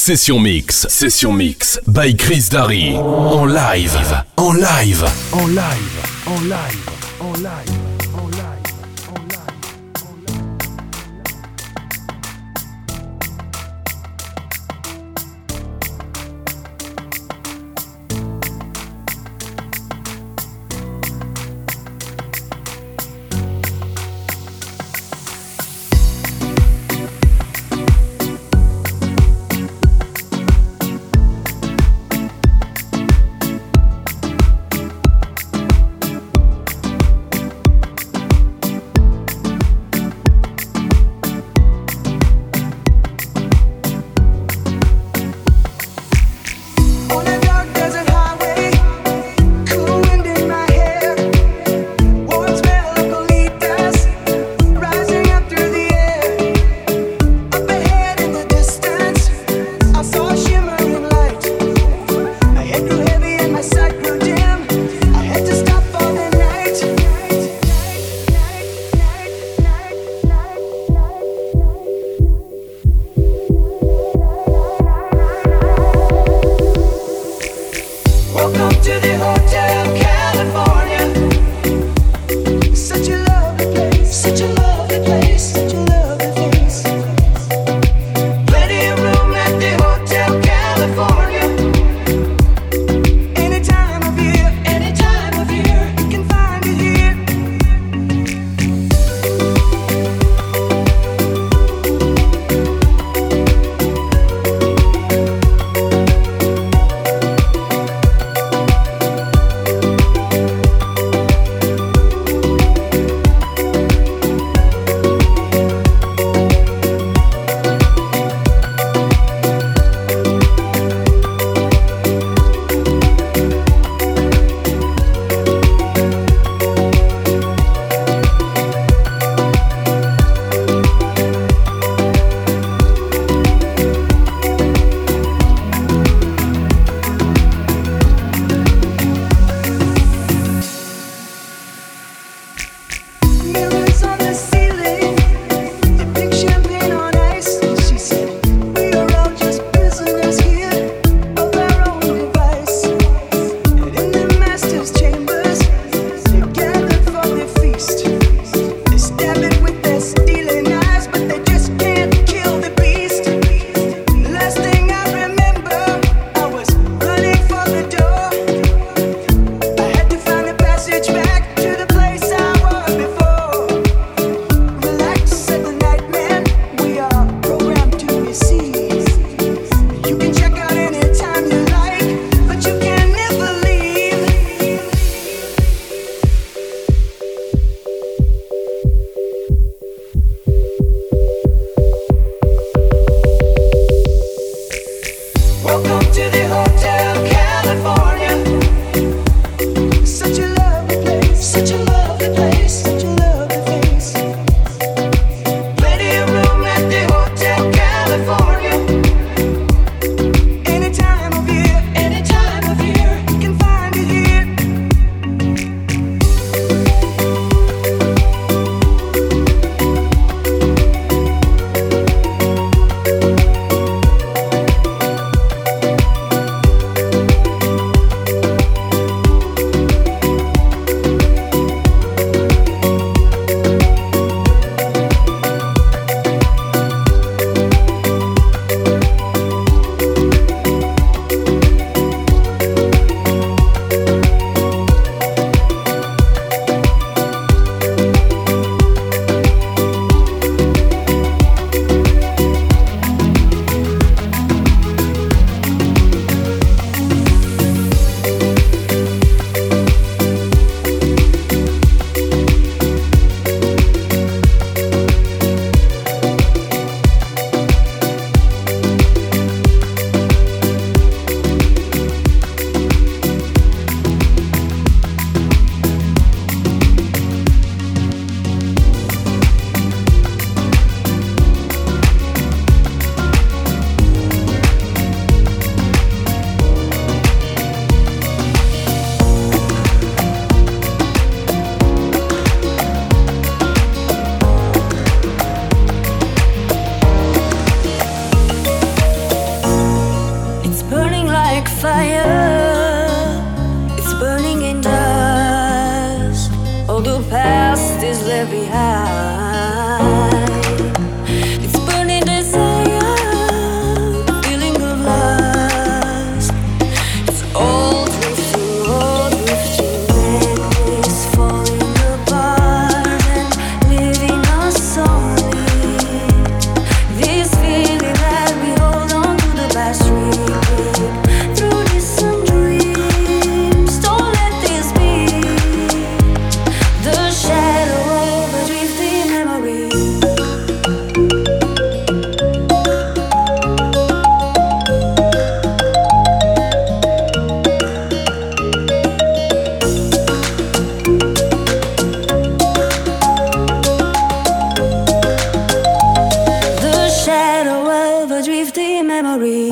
Session Mix by Chris Darry. En live. drifting memory.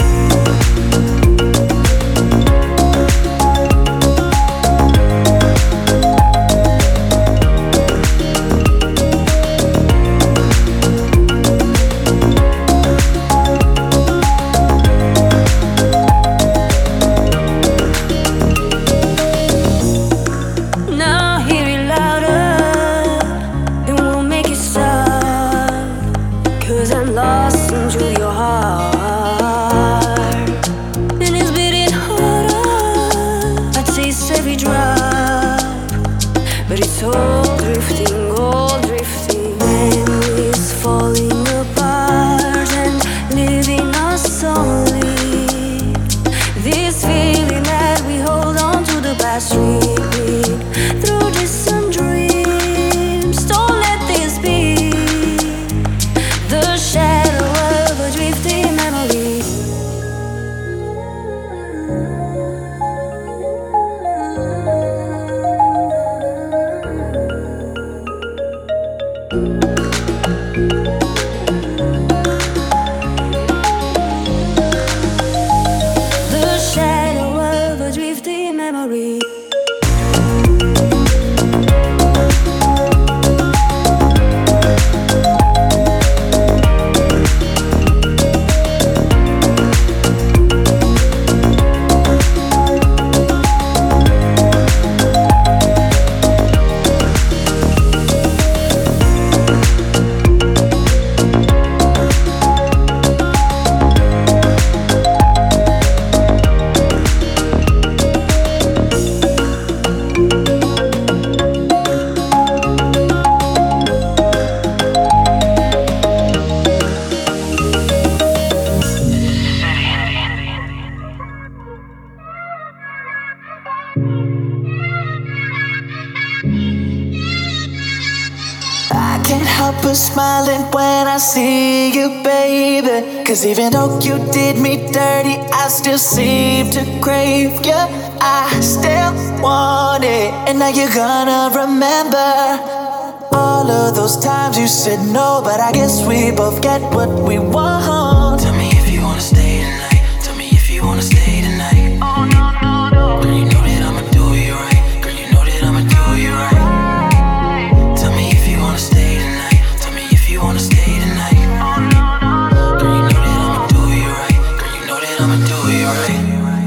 Smiling when I see you, baby. 'Cause even though you did me dirty, I still seem to crave you. I still want it, and now you're gonna remember all of those times you said no, but I guess we both get what we want. Tell me if you wanna stay tonight. Tell me if you wanna stay tonight. Oh no, no, no. Girl, you know that I'ma do you right. Girl, you know that I'ma do you right. Tell me if you wanna stay tonight. You wanna stay tonight? Oh no, no, no. Girl, you know that I'ma do you right. Girl, you know that I'ma do you right.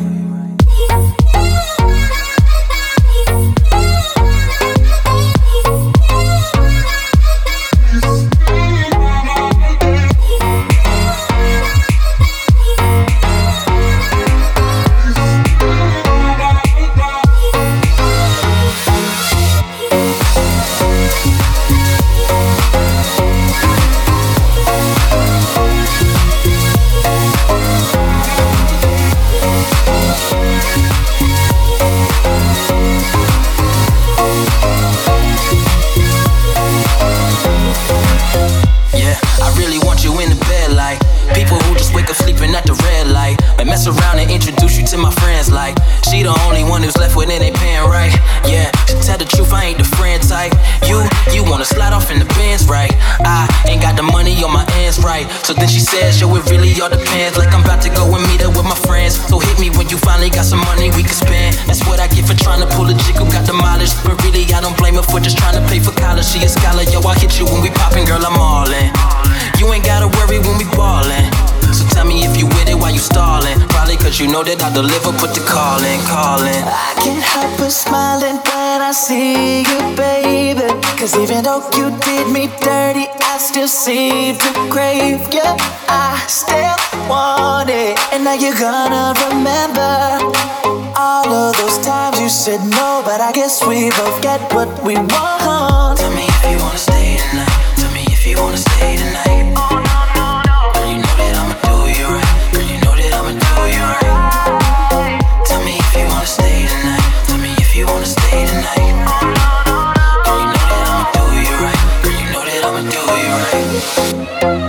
Around and introduce you to my friends like she the only one who's left with it ain't paying right. Yeah, to tell the truth, I ain't the friend type. You wanna slide off in the Benz, right? I ain't got the money on my hands, right? So then she says, yo, it really all depends. Like I'm about to go and meet up with my friends. So hit me when you finally got some money we can spend. That's what I get for trying to pull a chick who got the mileage. But really, I don't blame her for just trying to pay for college. She a scholar, yo, I hit you when we poppin', girl, I'm all in. You ain't gotta worry when we ballin'. So tell me if you with it while you stallin'. Probably 'cause you know that I deliver, put the call in. I can't help but smiling when I see you, baby. 'Cause even though you did me dirty, I still seem to crave you. I still want it, and now you're gonna remember all of those times you said no, but I guess we both get what we want. Tell me if you wanna stay tonight. Tell me if you wanna stay tonight. Oh no, no, no. Girl, you know that I'ma do you right. Girl, you know that I'ma do you right. Tell me if you wanna stay tonight. Tell me if you wanna stay tonight. Oh no, no, no. Girl, you know that I'ma do you right. Girl, you know that I'ma do you right.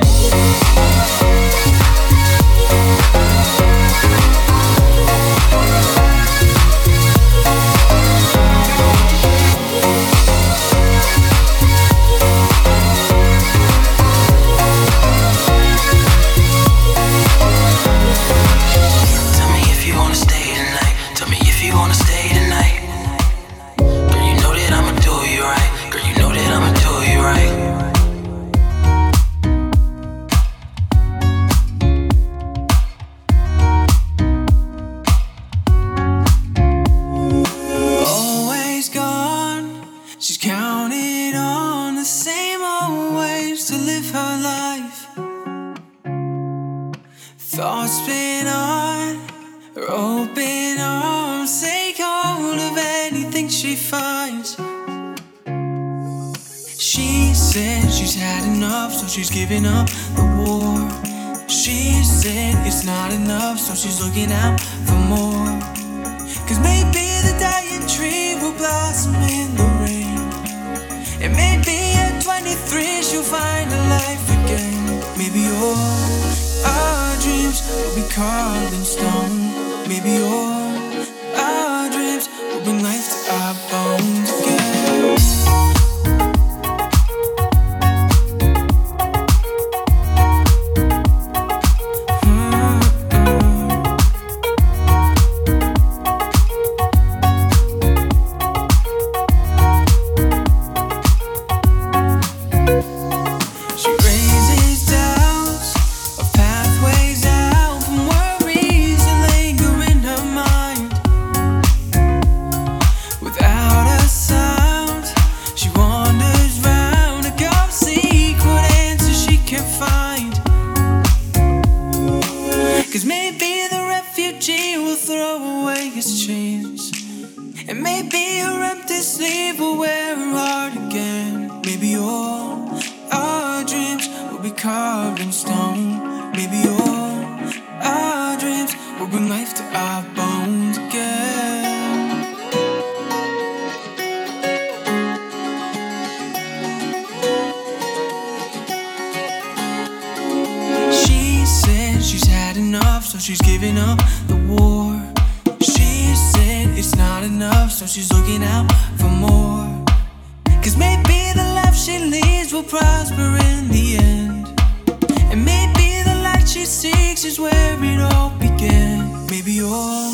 Thoughts spin on her open arms, take hold of anything she finds. She said she's had enough, so she's giving up the war. She said it's not enough, so she's looking out for more. Cause maybe the dying tree will blossom in the rain, and maybe at 23 she'll find a life again. Maybe all our dreams will be carved in stone. Maybe all our dreams will bring life to our bones again. She's giving up the war. She said it's not enough, so she's looking out for more. Cause maybe the life she leads will prosper in the end, and maybe the light she seeks is where it all began. Maybe all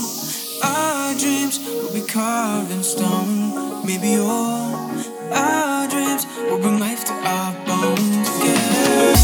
our dreams will be carved in stone. Maybe all our dreams will bring life to our bones again.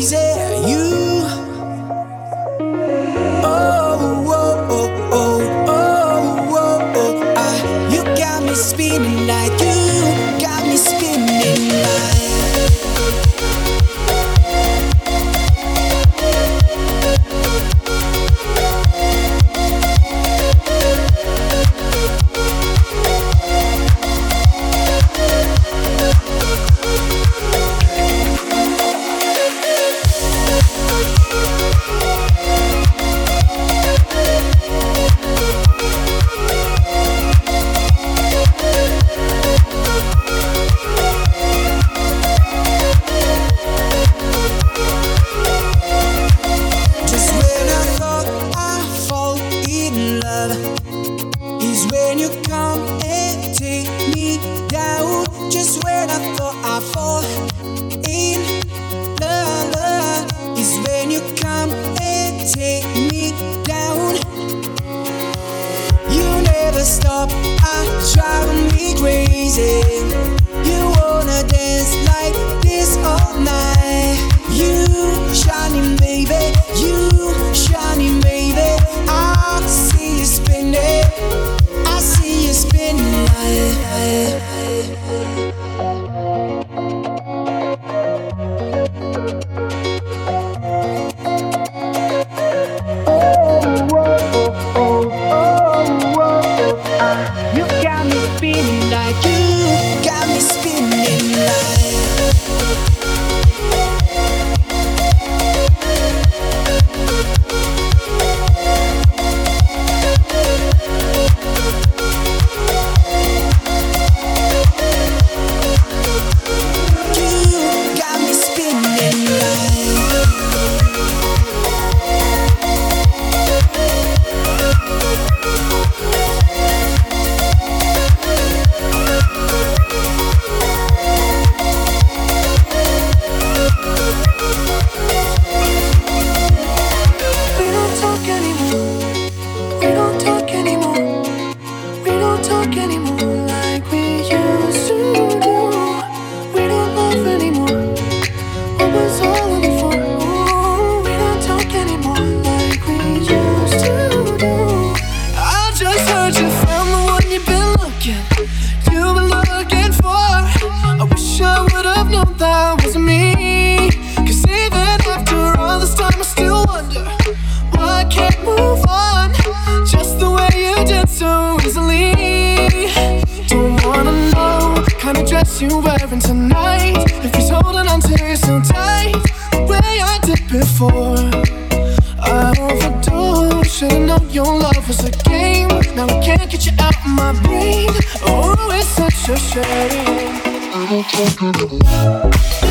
Oh, oh, oh, oh. love is when you come and take me down. Just when I thought I'd fall in love is when you come and take me down. You never stop, driving me crazy. You wanna dance like this all night. You shining baby, you shining baby. I see you spinning, I see you spinning like. You got me spinning like, you got me spinning like. You wearing tonight? If he's holding on to you so tight, the way I did before, I overdosed. Should've known your love was a game. Now I can't get you out of my brain. Oh, it's such a shame. I don't talk anymore.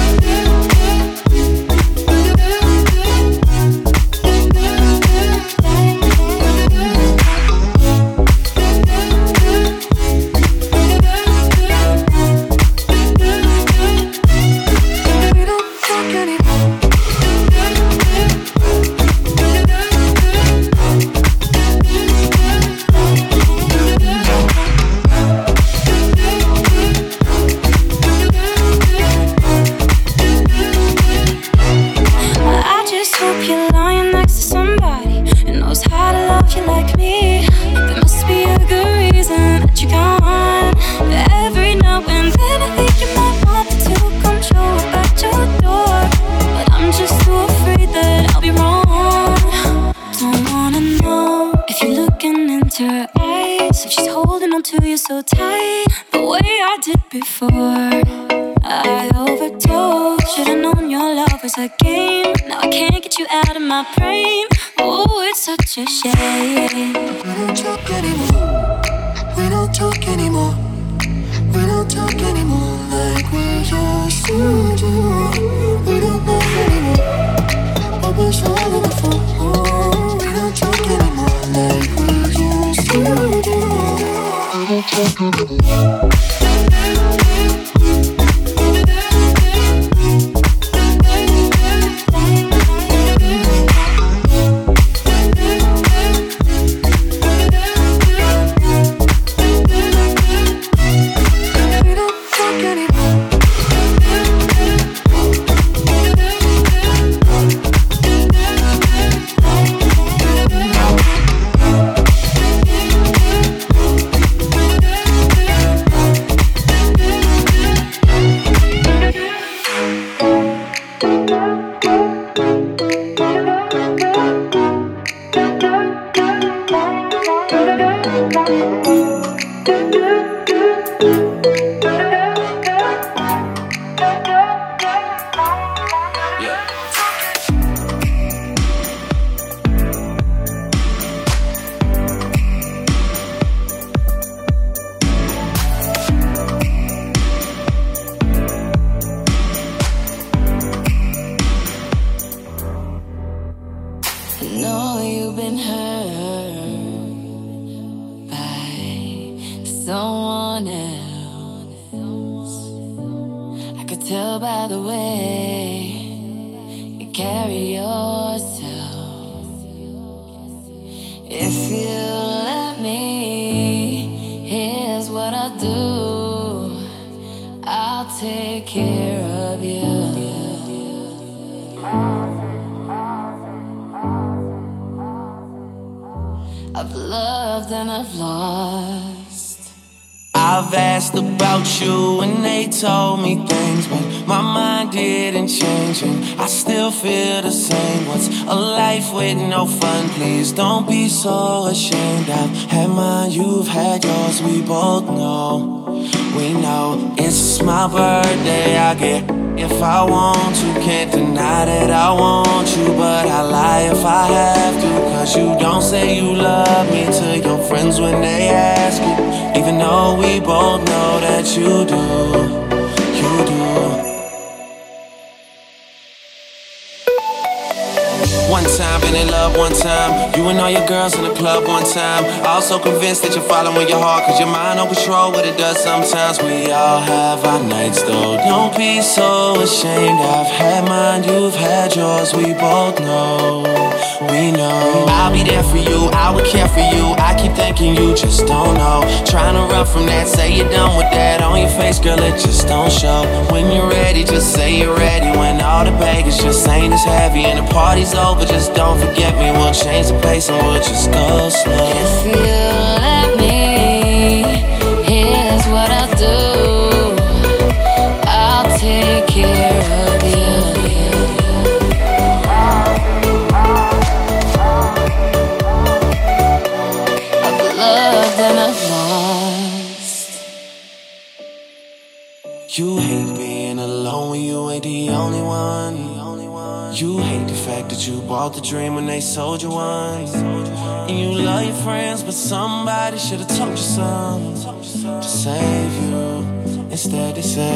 So tight, the way I did before, I overdosed. Should've known your love was a game. Now I can't get you out of my brain. Oh, it's such a shame. We don't talk anymore. We don't talk anymore. We don't talk anymore like we used to do. We don't love anymore. What was all of the fun? Oh, we don't talk anymore like we used to do. I don't talk anymore. someone else. I could tell by the way you carry yourself. If you let me, here's what I'll do. I'll take care of you. I've loved and I've lost. I've asked about you and they told me things, but my mind didn't change and I still feel the same. What's a life with no fun? Please don't be so ashamed. I've had mine, you've had yours, we both know. We know it's my birthday, I get if I want to. Can't deny that I want you, but I lie if I have to. Cause you don't say you love me to your friends when they ask you, even though we both know that you do, you do. One time, been in love one time. You and all your girls in the club one time. Also convinced that you're following your heart, cause your mind don't control what it does sometimes. We all have our nights though, don't be so ashamed. I've had mine, you've had yours, we both know. We know I'll be there for you, I would care for you. I keep thinking you just don't know. Trying to run from that, say you're done with that. On your face, girl, it just don't show. When you're ready, just say you're ready. When all the baggage just ain't as heavy and the party's over, just don't forget me. We'll change the pace and we'll just go slow. If you let me, here's what I'll do. I'll take care of you. I've loved and I've lost. You hate being alone when you ain't the only one. You hate the fact that you bought the dream when they sold you one. And you love your friends, but somebody should've told you something to save you. Instead they say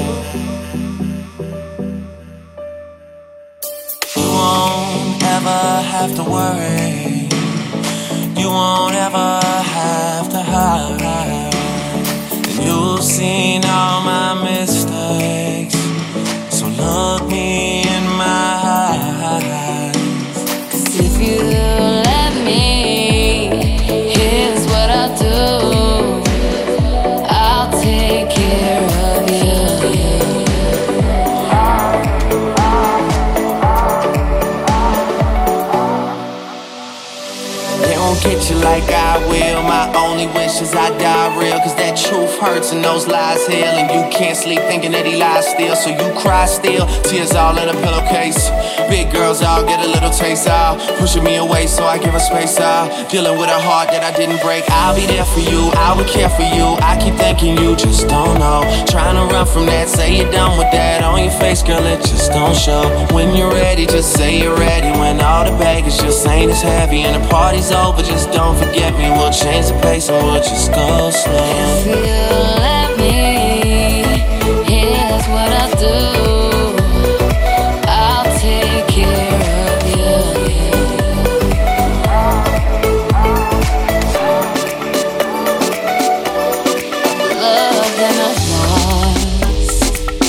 you won't ever have to worry. You won't ever have to hide. And you've seen all my mistakes, so look me in my eyes. Cause if you let me, here's what I'll do. I'll take care of you. They won't get you like I will. My only wish is I die real, cause that truth hurts and those lies heal. And you can't sleep thinking that he lies still, so you cry still, tears all in a pillowcase. Big girls all get a little taste out, pushing me away so I give her space out. Dealing with a heart that I didn't break. I'll be there for you, I would care for you. I keep thinking you just don't know. Trying to run from that, say you're done with that. On your face, girl, it just don't show. When you're ready, just say you're ready. When all the baggage just ain't as heavy and the party's over, just don't forget me. We'll change the pace and we'll just go slow. If you let me, here's what I'll do. I'll take care of you. Love and I've lost.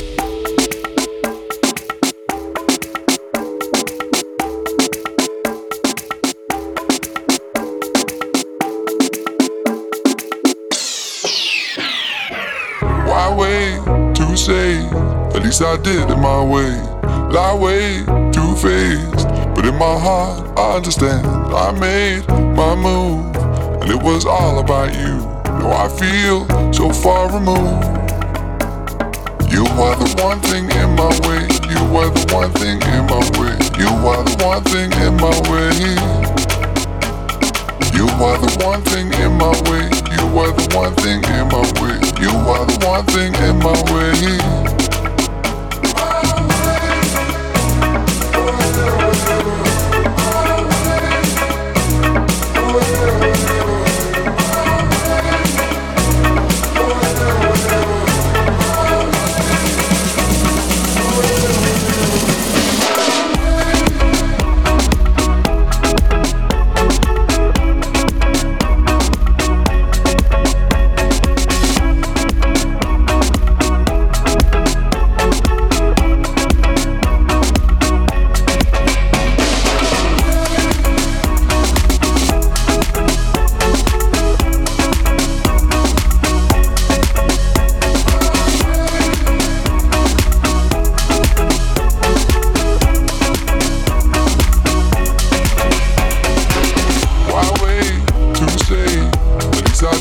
Why wait to say? At least I did it my way. Lie way too faced, but in my heart I understand. I made my move, and it was all about you. Now I feel so far removed. You are the one thing in my way. You are the one thing in my way. You are the one thing in my way. You are the one thing in my way. You are the one thing in my way. You are the one thing in my way.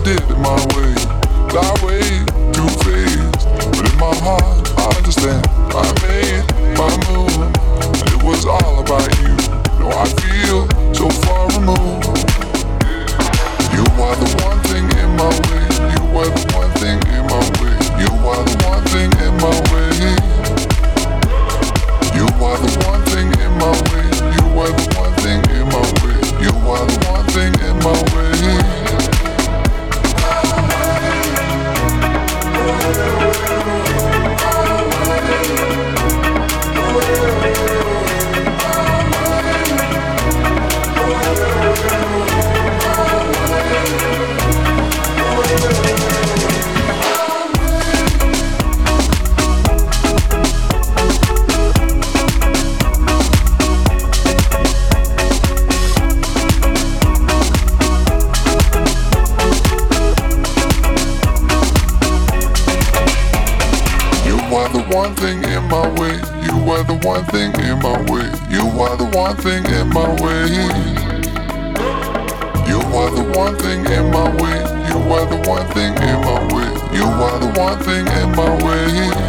did it my way. Lie way too fast, but in my heart I understand. I made my move, and it was all about you. No, I feel so far removed. You are the one thing in my way. You are the one thing in my way. You are the one thing in my way. You are the one thing in my way. You are the one thing in my way. You are the one thing in my way. One thing in my way. You are the one thing in my way. You are the one thing in my way. You are the one thing in my way. You are the one thing in my way. You are the one thing in my way.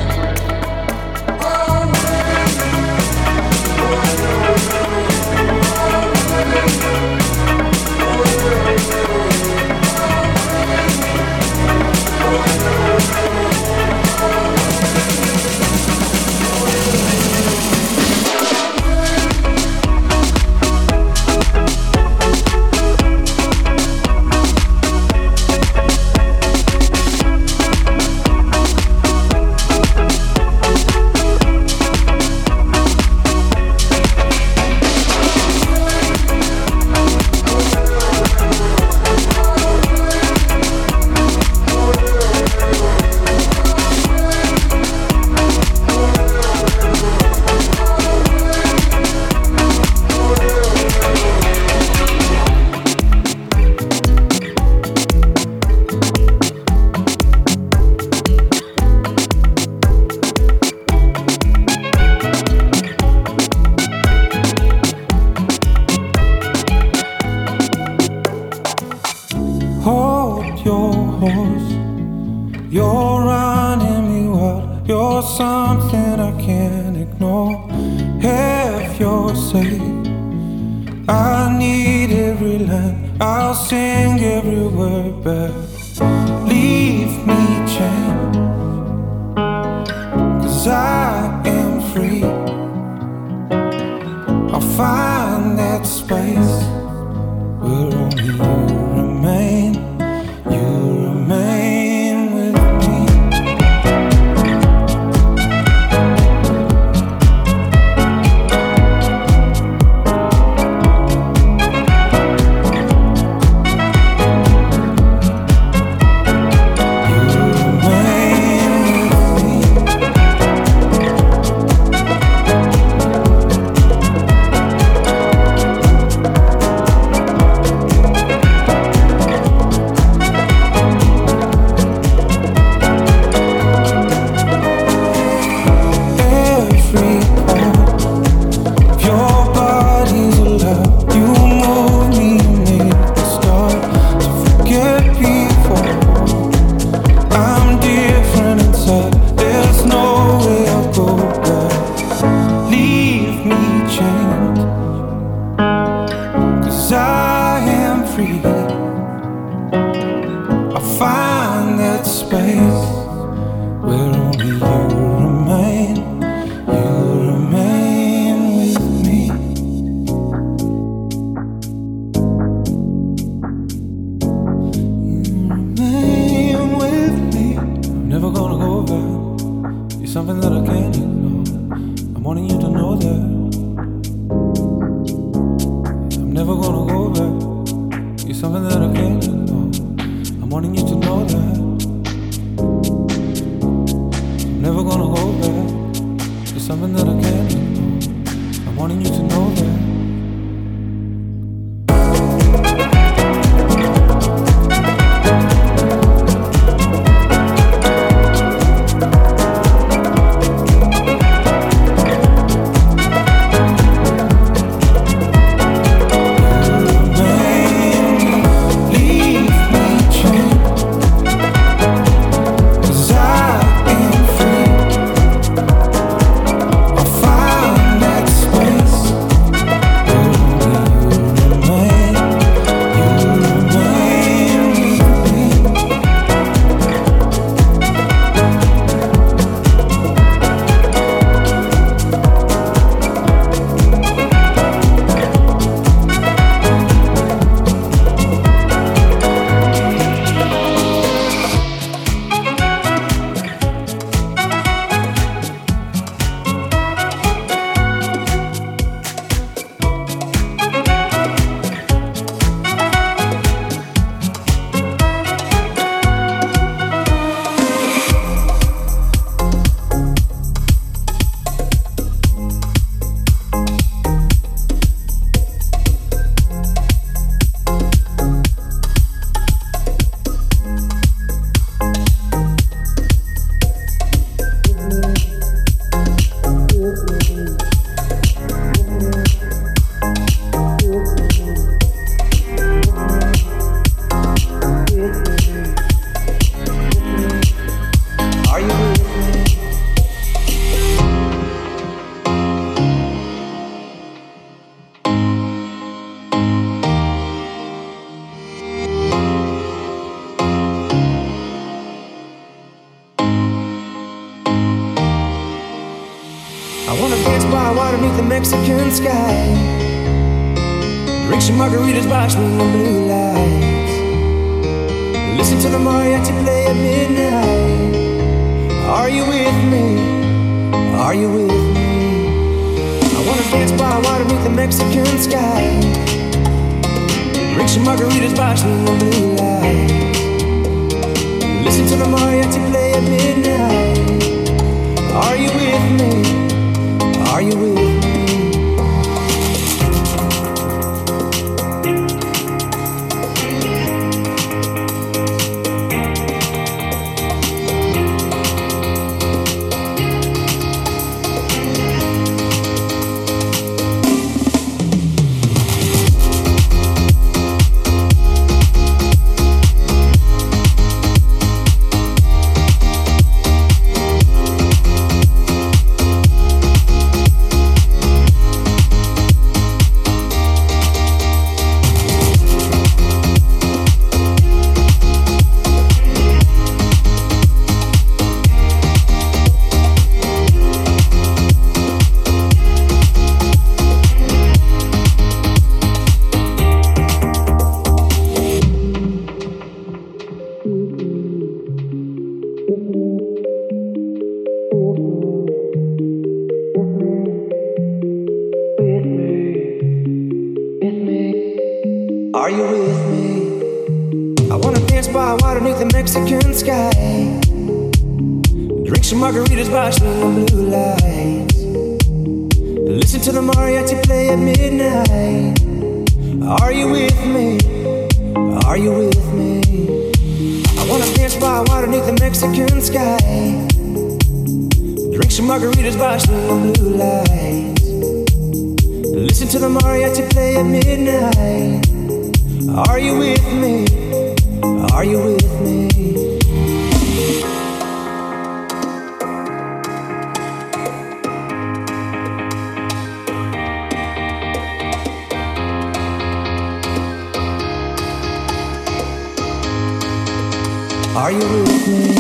by water beneath the Mexican sky. Drink some margaritas by swinging blue lights. Listen to the mariachi play at midnight. Are you with me? Are you with me? I wanna dance by water beneath the Mexican sky. Drink some margaritas by swinging blue lights. Listen to the mariachi play at midnight. Are you with me? Are you with me? Are you with me? I wanna dance by water beneath the Mexican sky. Drink some margaritas by swinging blue lights. Listen to the mariachi play at midnight. Are you with me? Are you with me? I wanna dance by water beneath the Mexican sky. Drink some margaritas by swinging blue lights. Listen to the mariachi play at midnight. Are you with me? Are you with me? Are you with me?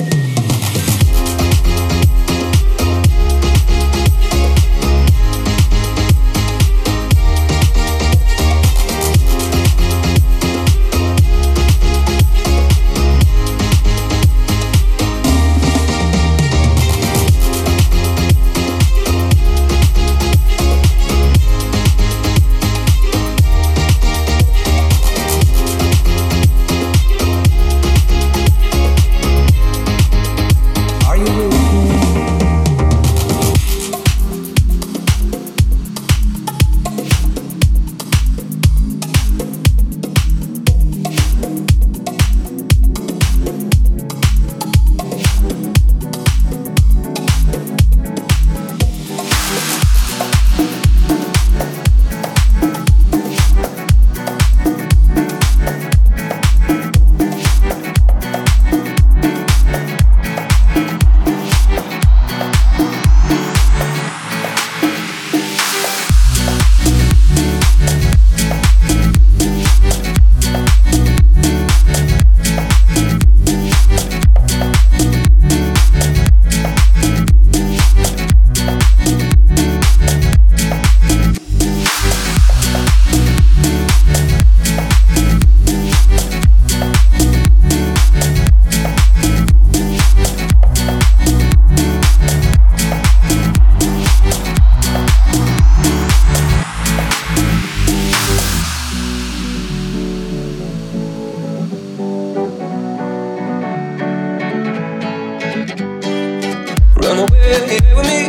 Run away with me.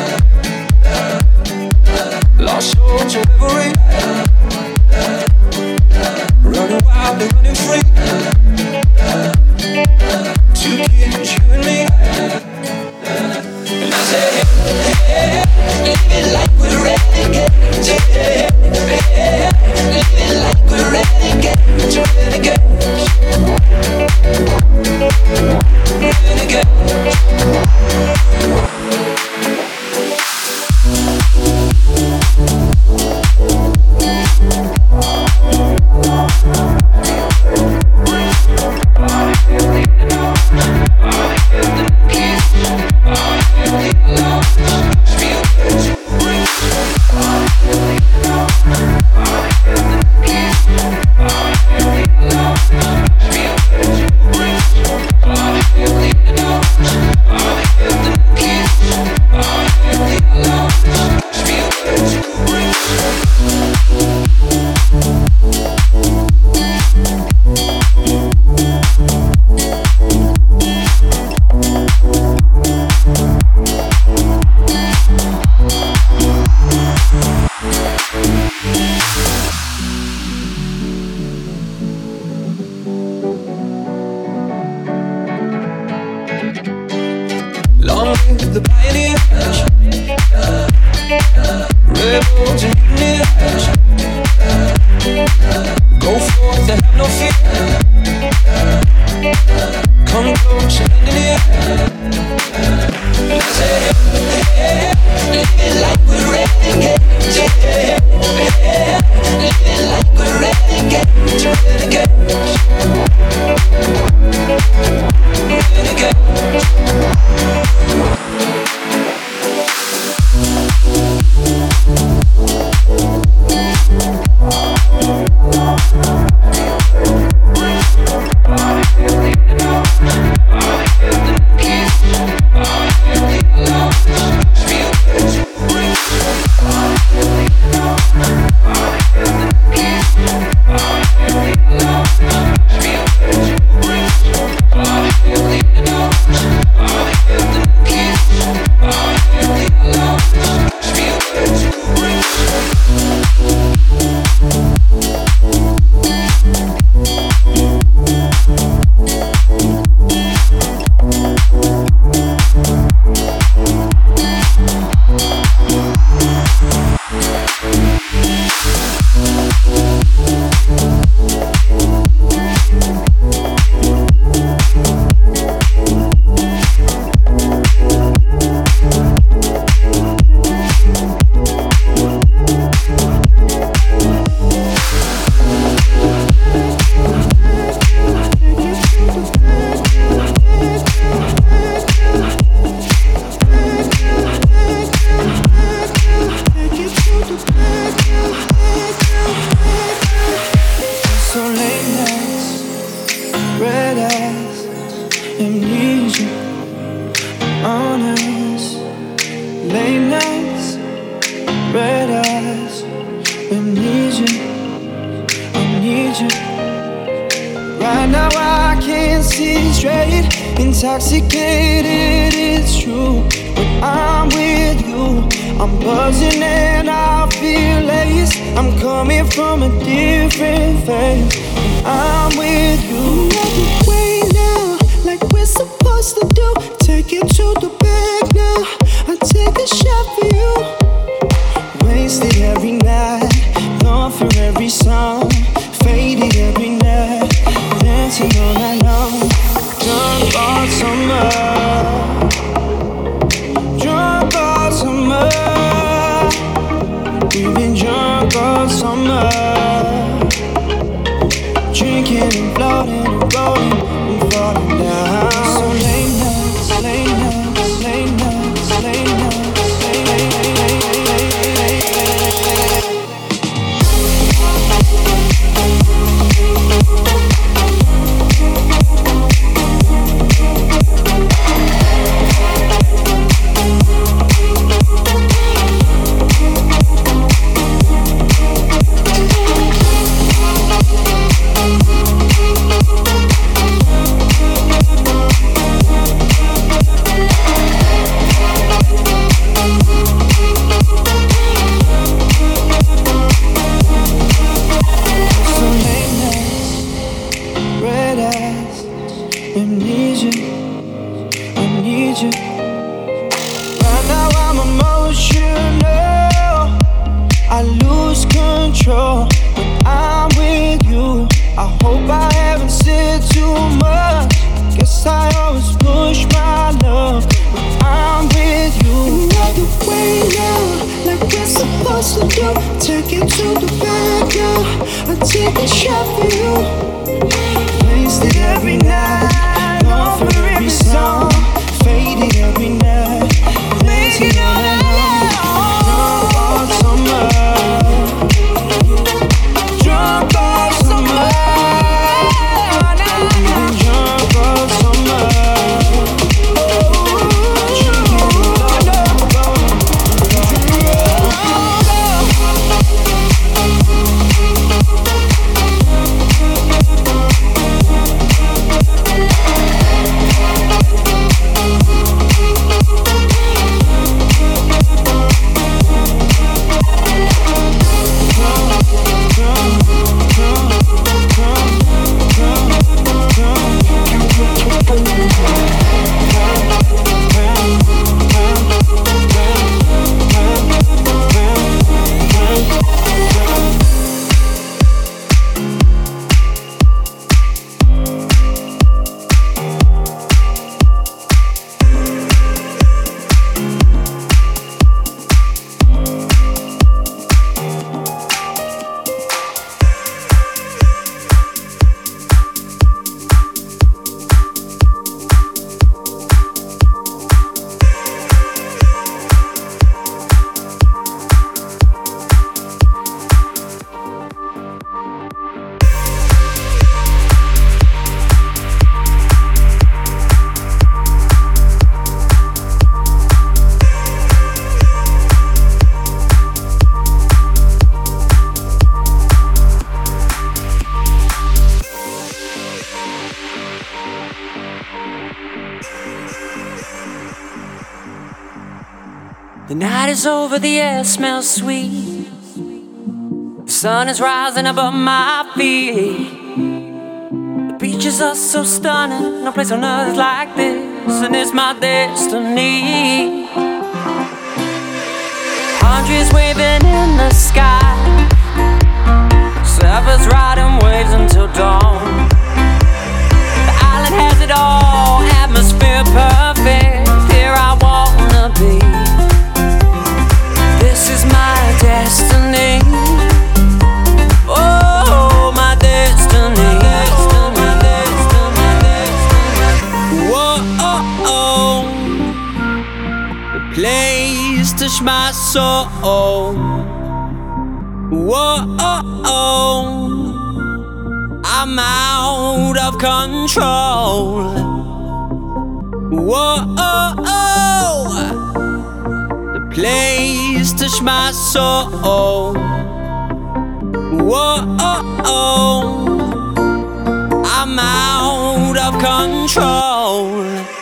Lost souls in reverie. Running wild and running free. Two kids, you and me. And I say, hey, live it like we're renegades. Hey, live it like we're renegades. Renegade. with the pioneers. Rebels and mutineers. Go forth and have no fear. Come close and lend an ear. I say, hey, live it like we're renegades. Yeah, live it like we're renegades. Intoxicated, it's true. When I'm with you, I'm buzzing and I feel lace. I'm coming from a different phase. When I'm with you, another way now, like we're supposed to do. Take it to the bag now. I take a shot for you. Wasted every night, gone for every song. Faded every night, dancing all night long. Drunk all summer, drunk all summer. We've been drunk all summer, drinking and floating and rolling and falling down. So late nights, late nights, late nights, late nights, late The night is over, the air smells sweet. The sun is rising above my feet. The beaches are so stunning, no place on earth is like this, and it's my destiny. Palm trees waving in the sky, surfers riding waves until dawn. The island has it all, atmosphere perfect. Here I wanna be. This is my destiny. Oh, my destiny. Whoa, the place touched my soul. Whoa, I'm out of control. Whoa, the place touched my soul. Whoa, I'm out of control.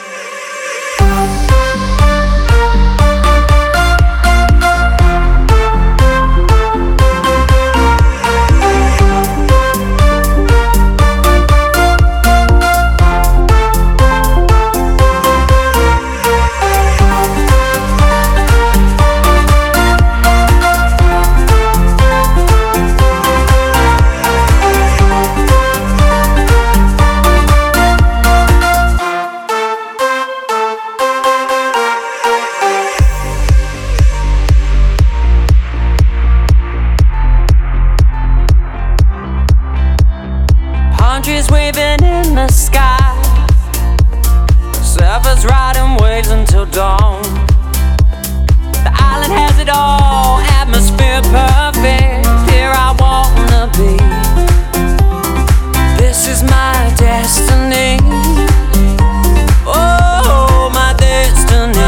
Trees waving in the sky, surfers riding waves until dawn. The island has it all, atmosphere perfect. Here I wanna be. This is my destiny. Oh, my destiny.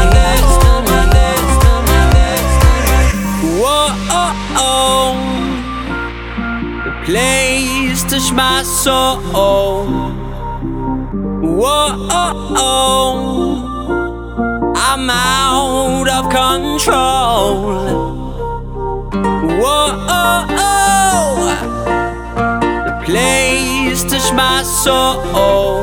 Whoa, the place touched my soul. Whoa, I'm out of control. Whoa, the place touched my soul.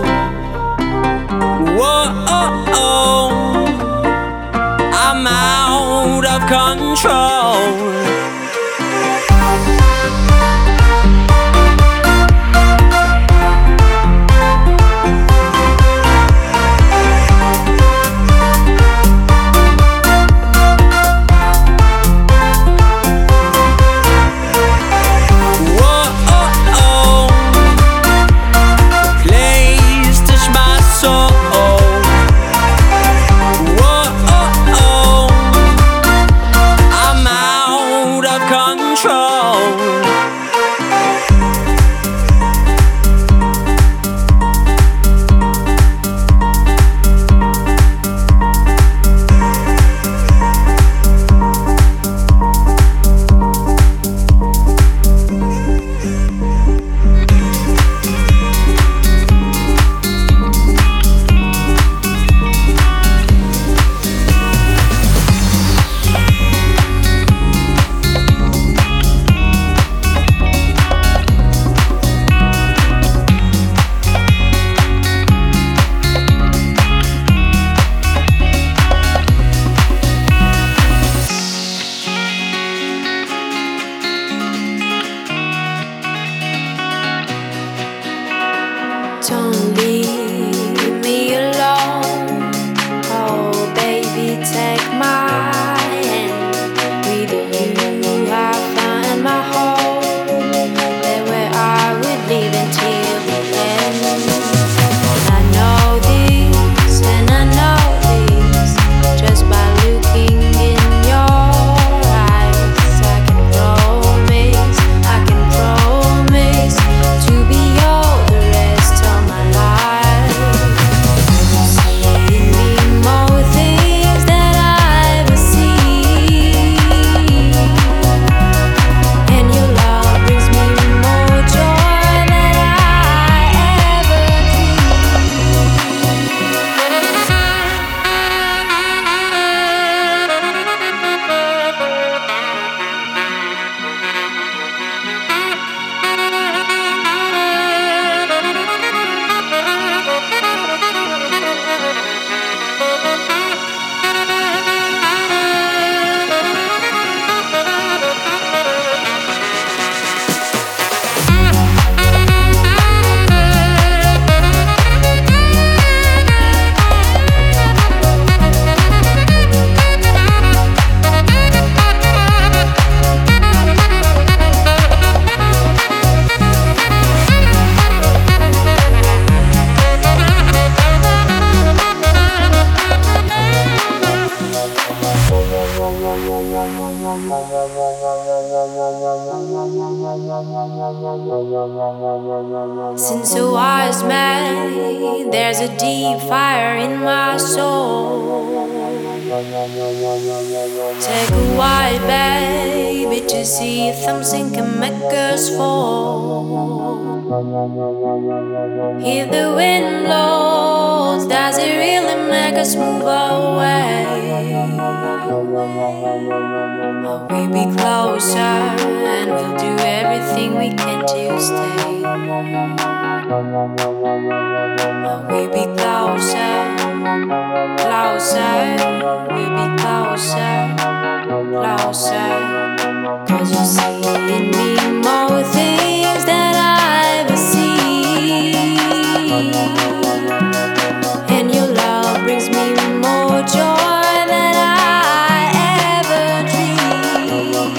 Whoa, I'm out of control. I'm So wise man, there's a deep fire in my soul. Take a while, baby, to see if something can make us fall. If the wind blows, does it really make us move away? Will we be closer and we'll do everything we can to stay? Will we be closer, closer? We'll be closer, closer. 'Cause you see in me more things than I ever see, and your love brings me more joy than I ever dreamed.